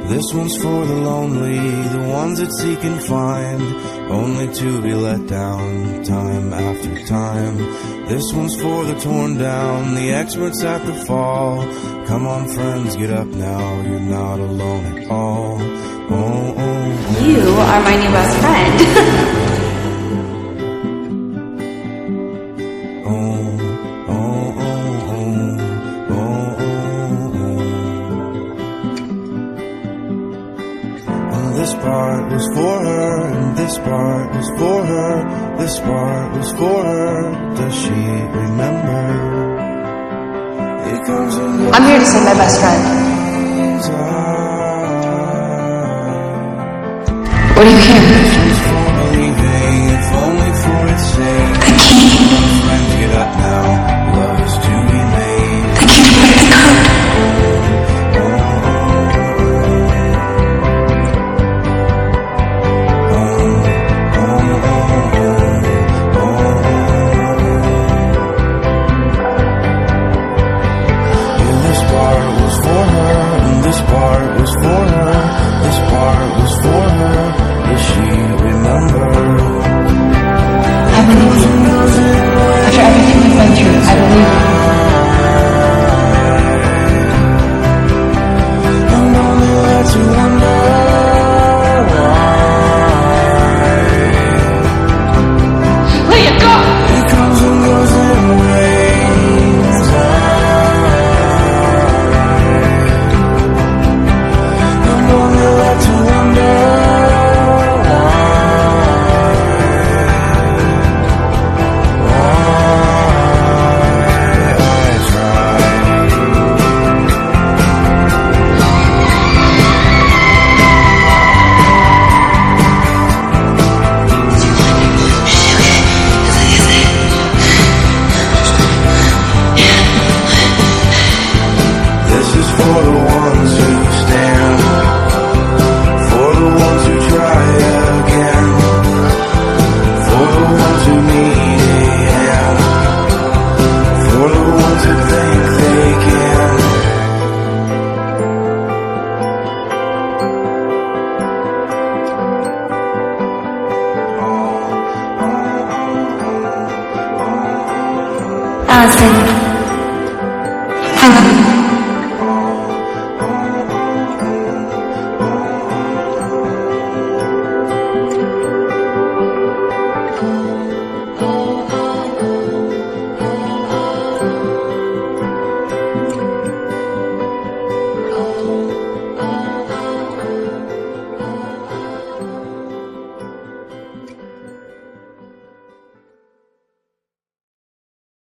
This one's for the lonely, the ones that seek and find, only to be let down time after time. This one's for the torn down, the experts at the fall. Come on friends, get up now, you're not alone at all. Oh, oh, oh. You are my new best friend. Oh, oh, oh, oh, oh, oh, oh. And this part was for her, and this part was for her, this part was for her. Does she remember? It comes and I'm here to sing my best friend. What do you hear? If only for its sake. I can't. Friends, get up now. Love is to be made. I can't let it go. This part was for her, and this part was for her. This part was for her. Does she remember? I believe you. After everything we've been through, I believe you. I'm only led to wonder why. Let it go! It comes and goes in waves. I'm only led to wonder for the ones who stand, for the ones who try again, for the ones who need a hand, for the ones who think they can. Allison.